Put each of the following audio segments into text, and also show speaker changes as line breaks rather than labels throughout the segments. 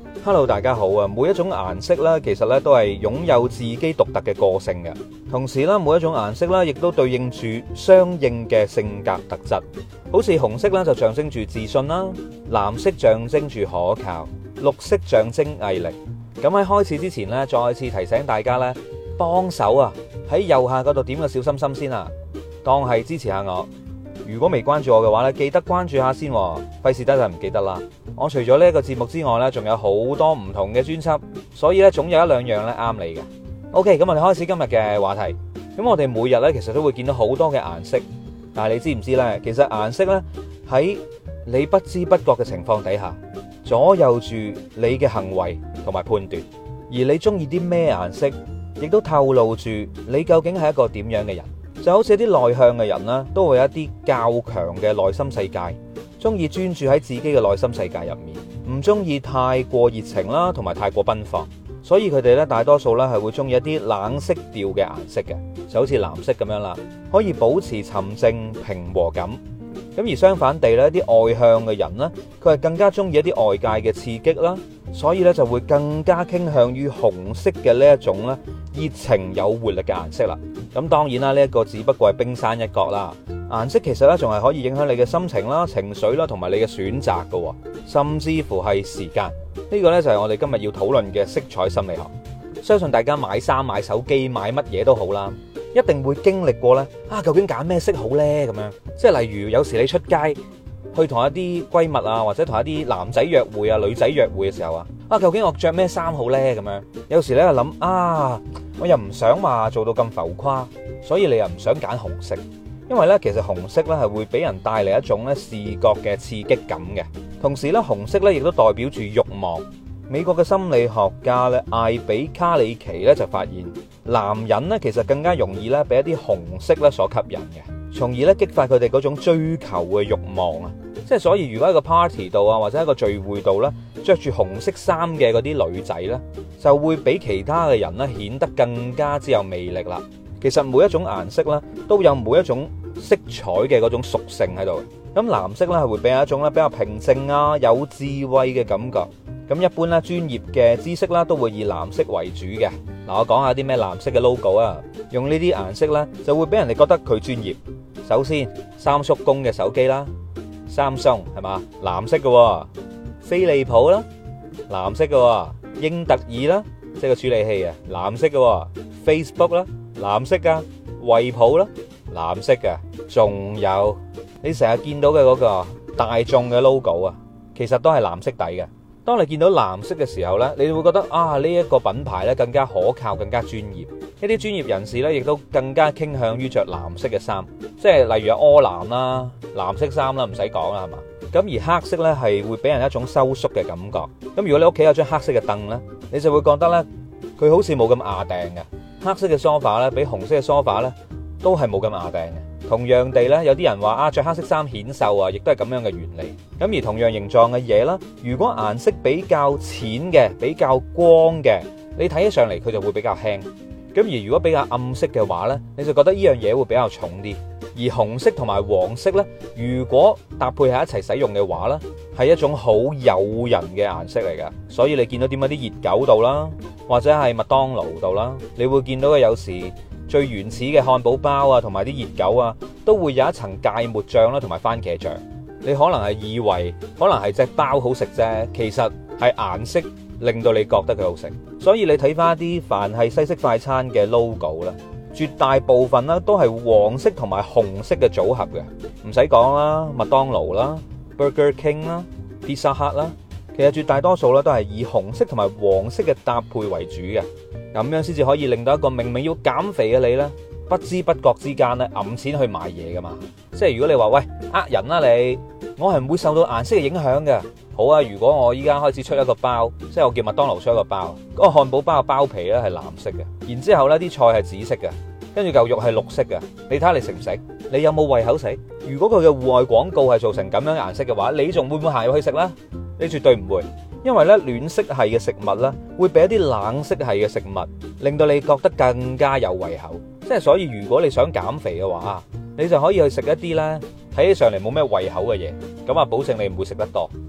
Hello，大家好啊！每一種顏色咧，其實咧都係擁有自己獨特嘅個性嘅。同時咧，每一種顏色咧，亦都對應住相應嘅性格特質。好似紅色咧就象徵住自信啦，藍色象徵住可靠，綠色象徵毅力。咁喺開始之前咧，再次提醒大家咧，幫手啊喺右下嗰度點個小心心先啊，當係支持下我。如果未關注我嘅話咧，記得關注下先，費事得就唔記得啦。我除咗呢一個節目之外咧，仲有好多唔同嘅專輯，所以咧總有一兩樣咧啱你嘅。OK，咁我哋開始今日嘅話題。咁我哋每日咧其實都會見到好多嘅顏色，但係你知唔知咧？其實顏色咧喺你不知不覺嘅情況底下，左右住你嘅行為同埋判斷。而你中意啲咩顏色，亦都透露住你究竟係一個點樣嘅人。就好似一啲內向嘅人啦，都會有一啲較強嘅內心世界，中意專注喺自己嘅內心世界入面，唔中意太過熱情啦，同埋太過奔放。所以佢哋咧大多數咧係會中意一啲冷色調嘅顏色嘅，就好似藍色咁樣啦，可以保持沉靜平和感。咁而相反地咧，啲外向嘅人呢，佢係更加中意一啲外界嘅刺激啦，所以咧就會更加傾向於紅色嘅呢一種咧熱情有活力嘅顏色啦。咁當然啦，呢一個只不過係冰山一角啦。顏色其實咧仲係可以影響你嘅心情啦、情緒啦，同埋你嘅選擇㗎，甚至乎係時間。呢個呢，就係我哋今日要討論嘅色彩心理學。相信大家買衫、買手機、買乜嘢都好啦，一定會經歷過呢究竟揀咩色好呢？咁樣，即係例如有時你出街去同一啲閨蜜啊，或者同一啲男仔約會啊、女仔約會嘅時候啊，究竟我着咩衫好呢？咁樣，有時咧就諗我又唔想話做到咁浮誇，所以你又唔想揀紅色，因為咧其實紅色咧係會俾人帶嚟一種咧視覺嘅刺激感嘅，同時咧紅色咧亦都代表住慾望。美國嘅心理學家咧艾比卡里奇咧就發現，男人咧其實更加容易咧俾一啲紅色咧所吸引嘅，從而咧激發佢哋嗰種追求嘅慾望啊！即係所以，如果喺個 party 度啊，或者喺個聚會度咧，着住紅色衫嘅嗰啲女仔咧，就會比其他嘅人咧顯得更加之有魅力啦。其實每一種顏色咧都有每一種色彩嘅嗰種屬性喺度。咁藍色咧係會俾人一種咧比較平靜啊、有智慧嘅感覺。咁一般咧專業嘅知識啦都會以藍色為主嘅。嗱，我講下啲咩藍色嘅 logo 啊，用呢啲顏色咧就會俾人哋覺得佢專業。首先，三叔公嘅手機啦。Samsung 係嘛，藍色嘅，飛利浦啦，藍色嘅，英特爾啦，即係個處理器啊，藍色嘅 ，Facebook 啦，藍色噶，惠普啦，藍色嘅，仲有你成日見到嘅嗰個大眾嘅 logo 啊，其實都係藍色底嘅。當你見到藍色嘅時候呢，你會覺得呢一個品牌呢更加可靠，更加專業。一啲專業人士呢亦都更加傾向於着藍色嘅衫，即係例如柯南啦、藍色衫啦，唔使講啦，係嘛？咁而黑色呢係會俾人一種收縮嘅感覺。咁如果你屋企有張黑色嘅凳呢，你就會覺得呢，佢好似冇咁牙掟嘅。黑色嘅梳化呢，比紅色嘅梳化呢都係冇咁牙掟嘅。同樣地咧，有啲人話着黑色衫顯瘦啊，亦都係咁樣嘅原理。咁而同樣形狀嘅嘢啦，如果顏色比較淺嘅、比較光嘅，你睇起上嚟佢就會比較輕。咁而如果比較暗色嘅話呢，你就覺得呢樣嘢會比較重啲。而紅色同埋黃色呢，如果搭配喺一齊使用嘅話呢，係一種好誘人嘅顏色嚟㗎。所以你見到點解啲熱狗度啦，或者係麥當勞度啦，你會見到嘅有時最原始嘅漢堡包啊，同埋啲熱狗啊，都會有一層芥末醬啦，同埋番茄醬。你可能係以為可能係隻包好食啫，其實係顏色令到你覺得佢好食。所以你睇翻啲凡係西式快餐嘅 logo 啦，絕大部分啦都係黃色同埋紅色嘅組合嘅。唔使講啦，麥當勞啦、Burger King 啦、Pizza Hut 啦，其實絕大多數咧都係以紅色同埋黃色嘅搭配為主嘅。咁樣先至可以令到一個明明要減肥嘅你呢，不知不覺之間呢揞錢去買嘢噶嘛。即係如果你話喂人啦你，我係唔會受到顏色嘅影響嘅。好啊，如果我依家開始出一個包，即係我叫麥當勞出一個包，嗰個漢堡包嘅包皮呢係藍色嘅，然之後呢啲菜係紫色嘅，跟住嚿肉係綠色嘅，你睇下你食唔食？你有冇胃口食？如果佢嘅戶外廣告係做成咁樣顏色嘅話，你仲會唔會行入去食呢？你絕對唔會。因為咧暖色系嘅食物咧，會比一啲冷色系嘅食物令到你覺得更加有胃口。即係所以，如果你想減肥嘅話，你就可以去食一啲咧睇起上嚟冇咩胃口嘅嘢，咁啊保證你唔會食得多。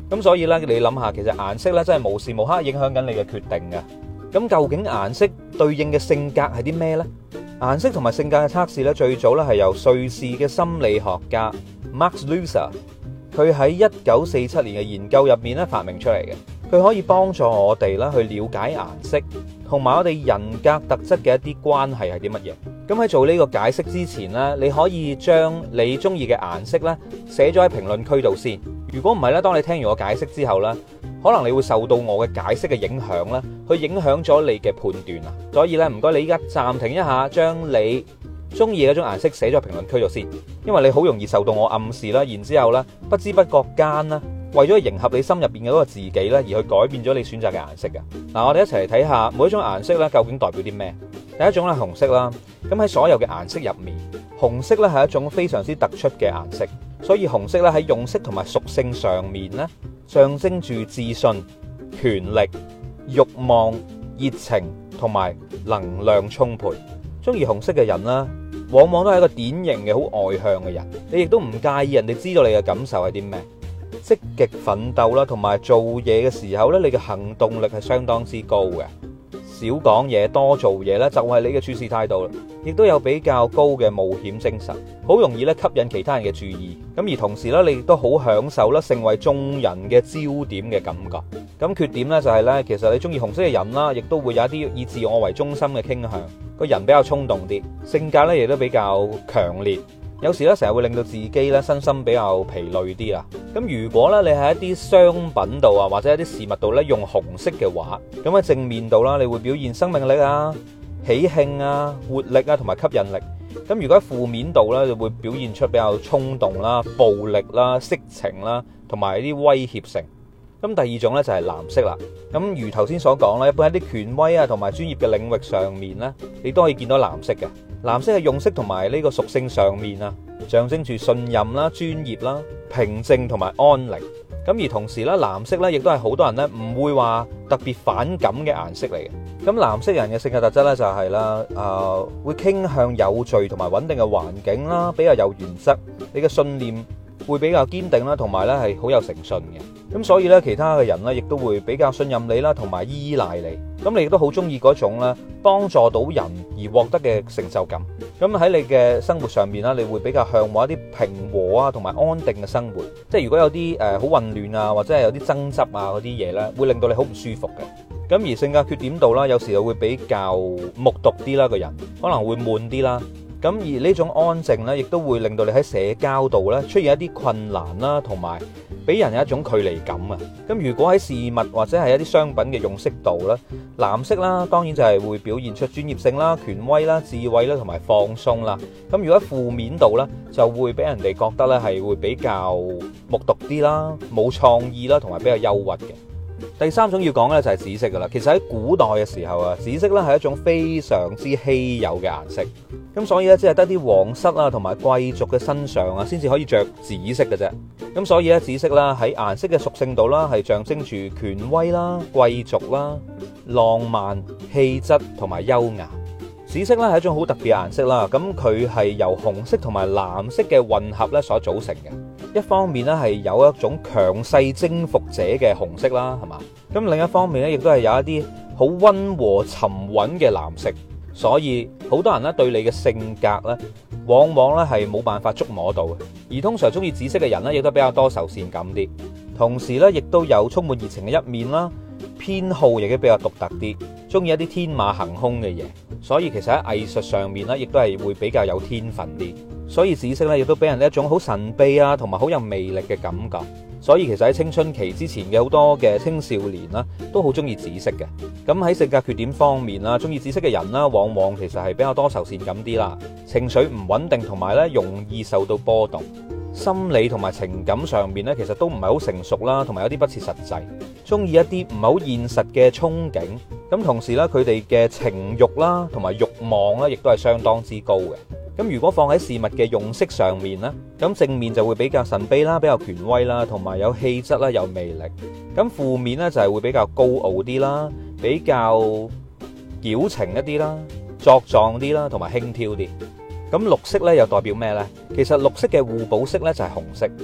咁所以咧，你諗下，其實顏色咧真係無時無刻影響緊你嘅決定嘅。咁究竟顏色對應嘅性格係啲咩呢？顏色同埋性格嘅測試咧，最早咧係由瑞士嘅心理學家 Max Lusser， 佢喺1947年嘅研究入面咧發明出嚟嘅。佢可以幫助我哋啦去了解顏色同埋我哋人格特質嘅一啲關係係啲乜嘢。咁喺做呢個解釋之前呢，你可以將你中意嘅顏色咧寫咗喺評論區度先。如果唔係咧，當你聽完我解釋之後咧，可能你會受到我嘅解釋嘅影響咧，去影響咗你嘅判斷啊。所以咧，唔該你依家暫停一下，將你中意嘅嗰種顏色寫咗喺評論區度先，因為你好容易受到我暗示啦，然之後咧不知不覺間啦，為咗迎合你心入邊嘅嗰個自己咧，而去改變咗你選擇嘅顏色嘅。嗱，我哋一齊嚟睇下每一種顏色咧究竟代表啲咩。第一種咧紅色啦，咁喺所有嘅顏色入面，紅色咧係一種非常之突出嘅顏色，所以紅色咧喺用色同埋屬性上面咧，象徵住自信、權力、慾望、熱情同埋能量充沛。中意紅色嘅人啦，往往都係一個典型嘅好外向嘅人，你亦都唔介意人哋知道你嘅感受係啲咩。積極奮鬥啦，同埋做嘢嘅時候咧，你嘅行動力係相當之高嘅。少講嘢，多做嘢咧，就係你嘅處事態度啦。亦都有比較高嘅冒險精神，好容易咧吸引其他人嘅注意。咁而同時咧，你亦都好享受啦，成為眾人嘅焦點嘅感覺。咁缺點咧就係咧，其實你中意紅色嘅人啦，亦都會有一啲以自我為中心嘅傾向，個人比較衝動啲，性格咧亦都比較強烈。有時咧成日會令到自己咧身心比較疲累啲啦。咁如果咧你喺一啲商品度啊，或者一啲事物度咧用紅色嘅話，咁喺正面度啦，你會表現生命力啊、喜慶啊、活力啊同埋吸引力。咁如果喺負面度咧，就會表現出比較衝動啦、暴力啦、色情啦，同埋一啲威脅性。咁第二種咧就係藍色啦。咁如頭先所講啦，一般喺啲權威啊同埋專業嘅領域上面咧，你都可以見到藍色嘅。藍色係用色同埋呢個屬性上面啊，象徵住信任啦、專業啦、平靜同埋安寧。咁而同時咧，藍色咧亦都係好多人咧唔會話特別反感嘅顏色嚟嘅。咁藍色人嘅性格特質咧就係啦，會傾向有序同埋穩定嘅環境啦，比較有原則，你嘅信念會比較堅定啦，同埋咧係好有誠信嘅。咁所以咧，其他嘅人咧亦都會比較信任你啦，同埋依賴你。咁你亦都好中意嗰種咧幫助到人而獲得嘅成就感。咁喺你嘅生活上面啦，你會比較向往一啲平和啊同埋安定嘅生活。即係如果有啲好混亂啊，或者係有啲爭執啊嗰啲嘢咧，會令到你好唔舒服嘅。咁而性格缺點度啦，有時又會比較木獨啲啦，個人可能會悶啲啦。咁而呢種安靜咧，亦都會令到你喺社交度咧出現一啲困難啦，同埋俾人有一種距離感啊。咁如果喺事物或者係一啲商品嘅用色度咧，藍色啦，當然就係會表現出專業性啦、權威啦、智慧啦同埋放鬆啦。咁如果喺負面度咧，就會俾人哋覺得咧係會比較木獨啲啦、冇創意啦，同埋比較憂鬱嘅。第三種要講嘅就係紫色噶啦。其實喺古代嘅時候啊，紫色咧係一種非常之稀有嘅顏色。咁所以咧，只係得啲皇室啊同埋貴族嘅身上啊，先至可以着紫色嘅啫。咁所以咧，紫色啦喺顏色嘅屬性度啦，係象徵住權威啦、貴族啦、浪漫、氣質同埋優雅。紫色咧係一種好特別嘅顏色啦。咁佢係由紅色同埋藍色嘅混合咧所組成嘅。一方面咧係有一種強勢征服者嘅紅色啦，係嘛？咁另一方面咧，亦都係有一啲好溫和沉穩嘅藍色。所以好多人咧對你嘅性格咧，往往咧係冇辦法捉摸到嘅。而通常中意紫色嘅人咧，亦都比較多愁善感啲，同時咧亦都有充滿熱情嘅一面啦。偏好亦都比較獨特啲，中意一啲天馬行空嘅嘢。所以其實喺藝術上面咧，亦都係會比較有天分啲。所以紫色咧亦都俾人一種好神秘啊，同埋好有魅力嘅感覺。所以其實喺青春期之前嘅好多嘅青少年啦，都好中意紫色嘅。咁喺性格缺點方面啦，中意紫色嘅人啦，往往其實係比較多愁善感啲啦，情緒唔穩定，同埋咧容易受到波動。心理同埋情感上面咧，其實都唔係好成熟啦，同埋有啲不切實際，中意一啲唔係好現實嘅憧憬。咁同時咧，佢哋嘅情慾啦，同埋慾望咧，亦都係相當之高嘅。咁如果放喺事物嘅用色上面咧，咁正面就會比較神秘啦，比較權威啦，同埋有氣質啦，有魅力。咁負面咧就係會比較高傲啲啦，比較矯情一啲啦，作狀啲啦，同埋輕佻啲。咁綠色咧又代表咩呢？其實綠色嘅互補色咧就係紅色，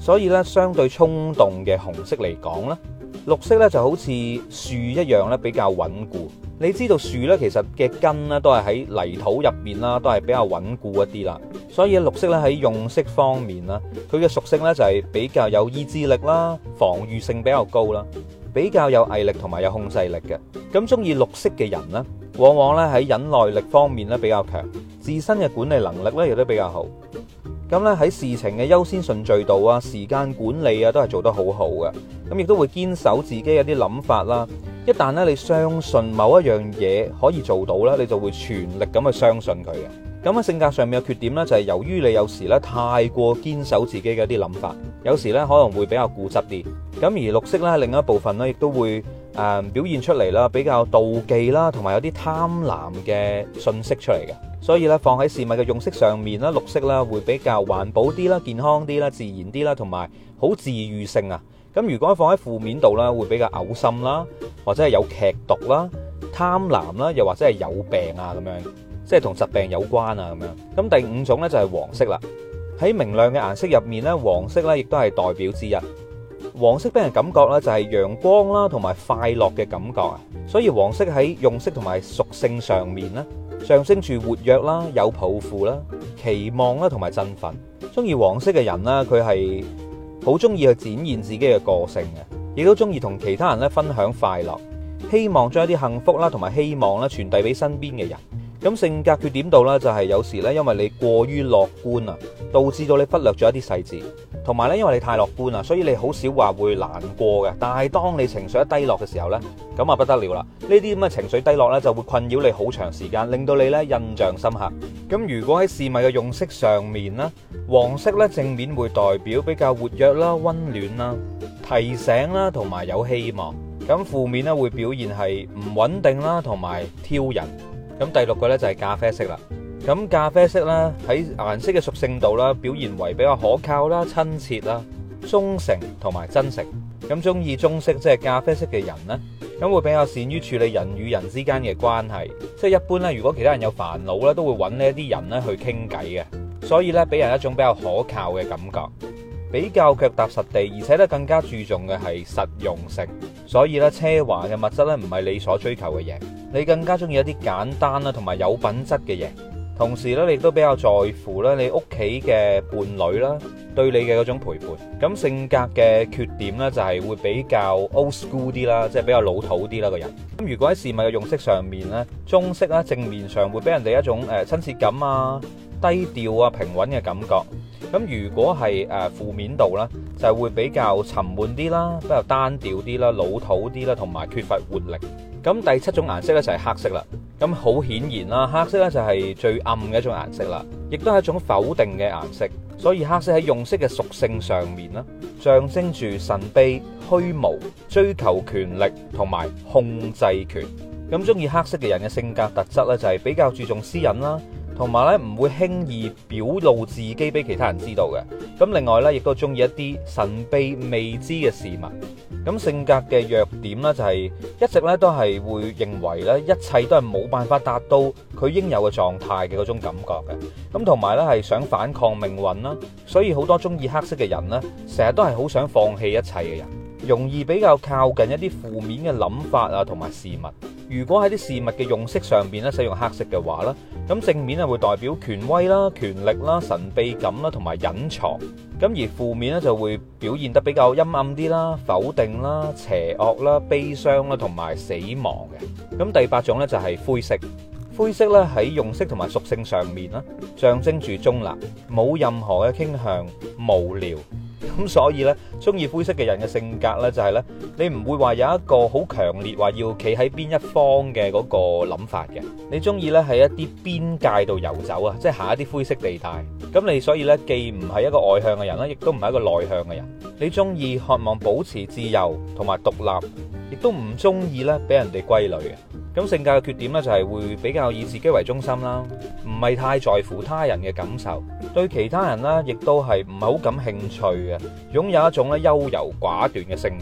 所以咧相對衝動嘅紅色嚟講咧，綠色咧就好似樹一樣咧比較穩固。你知道樹咧其實嘅根咧都係喺泥土入面啦，都係比較穩固一啲啦。所以綠色咧喺用色方面啦，佢嘅屬性咧就係比較有意志力啦，防禦性比較高啦，比較有毅力同埋有控制力嘅。咁中意綠色嘅人呢，往往咧喺忍耐力方面咧比較強，自身嘅管理能力咧亦都比較好。咁咧喺事情嘅優先順序度啊、時間管理啊都係做得好好嘅。咁亦都會堅守自己一啲諗法啦。一旦咧你相信某一樣嘢可以做到咧，你就會全力咁去相信佢嘅。咁喺性格上面嘅缺點咧，就係由於你有時咧太過堅守自己嘅一啲諗法，有時咧可能會比較固執啲。咁而綠色咧另一部分咧，亦都會表現出嚟啦，比較妒忌啦，同埋有啲貪婪嘅信息出嚟嘅。所以咧放喺事物嘅用色上面啦，綠色啦會比較環保啲啦、健康啲啦、自然啲啦，同埋好治愈性啊。咁如果放喺負面度啦，會比較嘔心啦，或者係有劇毒啦、貪婪啦，又或者係有病啊咁樣，即係同疾病有關啊咁樣。咁第五種咧就係黃色啦。喺明亮嘅顏色入面咧，黃色咧亦都係代表之一。黃色俾人感覺咧就係陽光啦，同埋快樂嘅感覺啊。所以黃色喺用色同埋屬性上面咧，象徵住活躍啦、有抱負啦、期望啦同埋振奮。中意黃色嘅人啦，佢係好中意去展現自己嘅個性嘅，亦都中意同其他人咧分享快樂，希望將一啲幸福啦同埋希望咧傳遞俾身邊嘅人。咁性格缺點度咧就係有時咧因為你過於樂觀啊，導致到你忽略咗一啲細節，同埋咧因為你太樂觀啊，所以你好少話會難過嘅。但係當你情緒一低落嘅時候咧，咁啊不得了啦！呢啲咁嘅情緒低落咧就會困擾你好長時間，令到你咧印象深刻。咁如果喺事物嘅用色上面咧，黃色咧正面會代表比較活躍啦、溫暖啦、提醒啦同埋有希望。咁負面咧會表現係唔穩定啦同埋挑人。咁第六個咧就係咖啡色啦。咁咖啡色咧喺顏色嘅屬性度啦，表現為比較可靠啦、親切啦、忠誠同埋真誠。咁中意棕色即係咖啡色嘅人呢，咁會比較善於處理人與人之間嘅關係。即係一般咧，如果其他人有煩惱咧，都會揾呢一啲人咧去傾偈嘅。所以咧，俾人一種比較可靠嘅感覺，比較腳踏實地，而且咧更加注重嘅係實用性。所以咧，奢華嘅物質咧唔係你所追求嘅嘢，你更加中意一啲簡單啦同埋有品質嘅嘢。同時咧，你亦都比較在乎咧你屋企嘅伴侶啦，對你嘅嗰種陪伴。咁性格嘅缺點咧就係會比較 old school 啲啦，即係比較老土啲啦個人。咁如果喺事物嘅用色上面咧，棕色啦正面上會俾人哋一種親切感啊、低調啊、平穩嘅感覺。咁如果係負面度啦，就係會比較沉悶啲啦，比較單調啲啦、老土啲啦，同埋缺乏活力。咁第七種顏色咧就係黑色啦。咁好顯然啦，黑色咧就係最暗嘅一種顏色啦，亦都係一種否定嘅顏色。所以黑色喺用色嘅屬性上面啦，象徵住神秘、虛無、追求權力同埋控制權。咁中意黑色嘅人嘅性格特質咧，就係比較注重私隱啦，同埋咧唔會輕易表露自己俾其他人知道嘅。咁另外咧，亦都中意一啲神秘未知嘅事物。咁性格嘅弱點咧，就係一直咧都係會認為咧一切都係冇辦法達到佢應有嘅狀態嘅嗰種感覺嘅。咁同埋咧係想反抗命運啦，所以好多中意黑色嘅人咧，成日都係好想放棄一切嘅人，容易比較靠近一啲負面嘅諗法啊同埋事物。如果喺啲事物嘅用色上邊咧使用黑色嘅話咧，咁正面咧會代表權威啦、權力啦、神秘感啦同埋隱藏。咁而負面咧就會表現得比較陰暗啲啦、否定啦、邪惡啦、悲傷啦同埋死亡嘅。咁第八種咧就係灰色。灰色咧喺用色同埋屬性上面啦，象徵住中立，冇任何嘅傾向，無聊。咁所以咧，中意灰色嘅人嘅性格咧就係咧，你唔會話有一個好強烈話要企喺邊一方嘅嗰個諗法嘅。你中意咧喺一啲邊界度遊走啊，即係行一啲灰色地帶。咁你所以咧既唔係一個外向嘅人啦，亦都唔係一個內向嘅人。你中意渴望保持自由同埋獨立，亦都唔中意咧俾人哋歸類嘅。咁性格嘅缺點咧就係會比較以自己為中心啦，唔係太在乎他人嘅感受，對其他人咧亦都係唔係好感興趣嘅，擁有一種咧優柔寡斷嘅性格。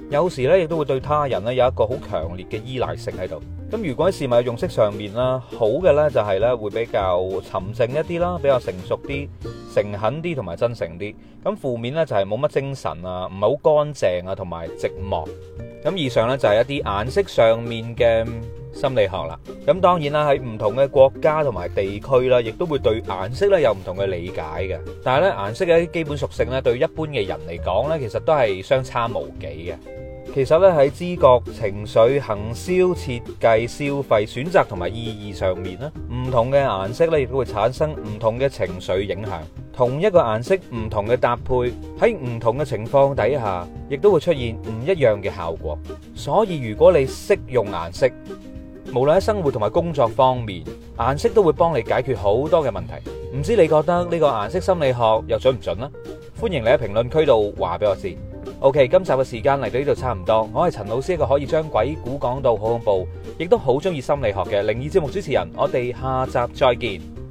有時咧亦都會對他人咧有一個好強烈嘅依賴性喺度。咁如果喺事物嘅用色上面啦，好嘅咧就係咧會比較沉靜一啲啦，比較成熟啲、誠懇啲同埋真誠啲。咁負面咧就係冇乜精神啊，唔係好乾淨啊，同埋寂寞。咁以上咧就係一啲顏色上面嘅心理學啦。咁當然啦，喺唔同嘅國家同埋地區啦，亦都會對顏色咧有唔同嘅理解嘅。但係咧顏色嘅一啲基本屬性咧，對一般嘅人嚟講咧，其實都係相差無幾嘅。其實咧喺知覺、情緒、行銷、設計、消費、選擇同埋意義上面咧，唔同嘅顏色咧亦都會產生唔同嘅情緒影響。同一個顏色唔同嘅搭配，喺唔同嘅情況底下，亦都會出現唔一樣嘅效果。所以如果你識用顏色，無論喺生活同埋工作方面，顏色都會幫你解決好多嘅問題。唔知你覺得呢個顏色心理學又準唔準呢？歡迎你喺評論區度話俾我知。OK， 今集嘅時間嚟到呢度差唔多，我係陳老師，一個可以將鬼故講到好恐怖，亦都好中意心理學嘅靈異節目主持人。我哋下集再見。